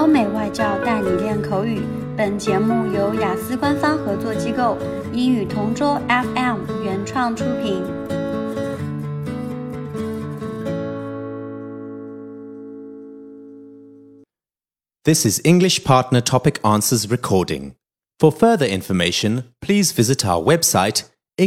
欧美外教带你练口语。本节目由雅思官方合作机构英语同桌 FM 原创出品。 This is English Partner Topic Answers recording. For further information, please visit our website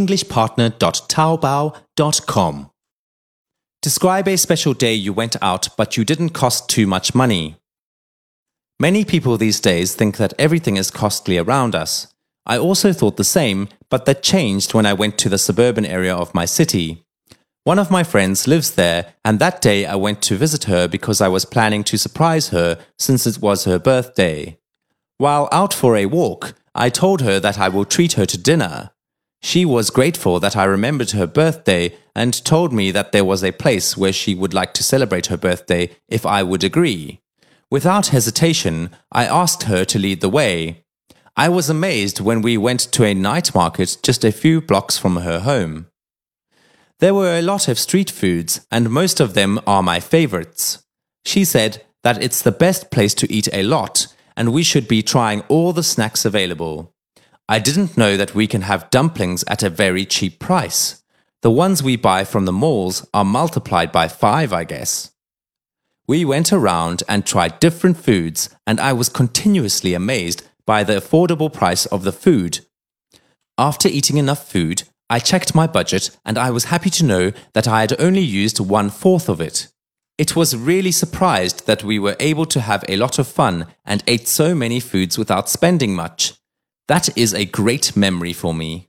englishpartner.taobao.com. Describe a special day you went out but you didn't cost too much money. Many people these days think that everything is costly around us. I also thought the same, but that changed when I went to the suburban area of my city. One of my friends lives there, and that day I went to visit her because I was planning to surprise her since it was her birthday. While out for a walk, I told her that I will treat her to dinner. She was grateful that I remembered her birthday and told me that there was a place where she would like to celebrate her birthday if I would agree. Without hesitation, I asked her to lead the way. I was amazed when we went to a night market just a few blocks from her home. There were a lot of street foods, and most of them are my favorites. She said that it's the best place to eat a lot, and we should be trying all the snacks available. I didn't know that we can have dumplings at a very cheap price. The ones we buy from the malls are multiplied by 5, I guess. We went around and tried different foods, and I was continuously amazed by the affordable price of the food. After eating enough food, I checked my budget and I was happy to know that I had only used 1/4 of it. It was really surprised that we were able to have a lot of fun and ate so many foods without spending much. That is a great memory for me.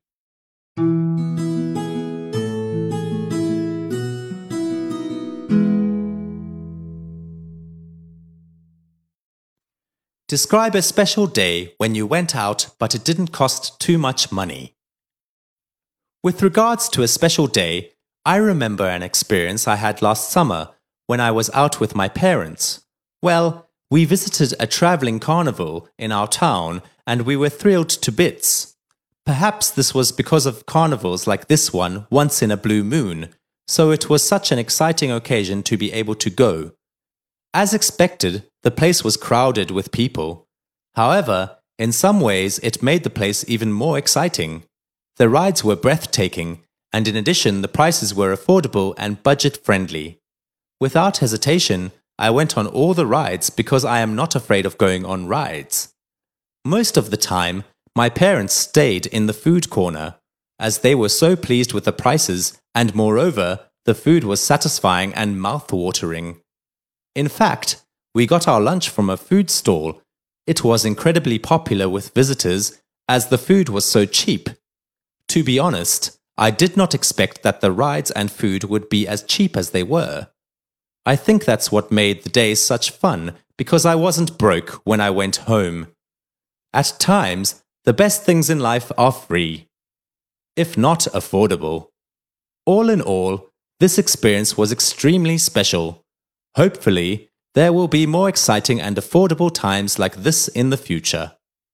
Describe a special day when you went out but it didn't cost too much money. With regards to a special day, I remember an experience I had last summer when I was out with my parents. Well, we visited a traveling carnival in our town and we were thrilled to bits. Perhaps this was because of carnivals like this one once in a blue moon, so it was such an exciting occasion to be able to go. As expected, the place was crowded with people. However, in some ways it made the place even more exciting. The rides were breathtaking, and in addition the prices were affordable and budget-friendly. Without hesitation, I went on all the rides because I am not afraid of going on rides. Most of the time, my parents stayed in the food corner, as they were so pleased with the prices, and moreover, the food was satisfying and mouth-watering. In fact, we got our lunch from a food stall. It was incredibly popular with visitors, as the food was so cheap. To be honest, I did not expect that the rides and food would be as cheap as they were. I think that's what made the day such fun, because I wasn't broke when I went home. At times, the best things in life are free, if not affordable. All in all, this experience was extremely special. Hopefully, there will be more exciting and affordable times like this in the future.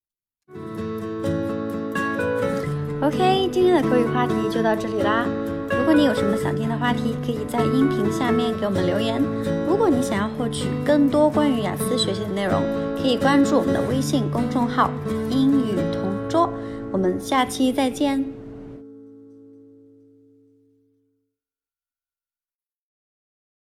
OK， 今天的口语话题就到这里啦。如果你有什么想听的话题，可以在音频下面给我们留言。如果你想要获取更多关于雅思学习的内容，可以关注我们的微信公众号“英语同桌”。我们下期再见。